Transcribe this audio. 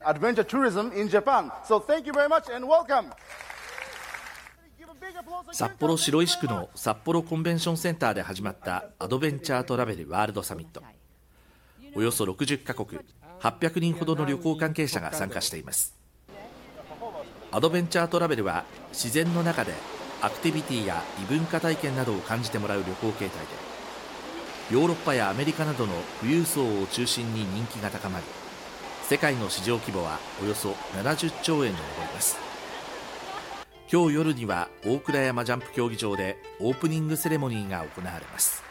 adventure tourism in Japan. So thank you very much and welcome. 札幌白石区の札幌コンベンションセンターで始まったアドベンチャートラベルワールドサミット。およそ60カ国800人ほどの旅行関係者が参加しています。アドベンチャートラベルは自然の中でアクティビティや異文化体験などを感じてもらう旅行形態で、ヨーロッパやアメリカなどの富裕層を中心に人気が高まり、世界の市場規模はおよそ70兆円に上ります。今日夜には大倉山ジャンプ競技場でオープニングセレモニーが行われます。